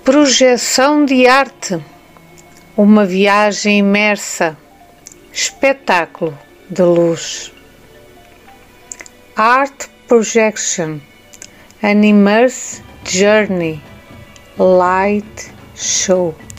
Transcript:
Projeção de arte, uma viagem imersa, espetáculo de luz. Art projection, an immersive journey, light show.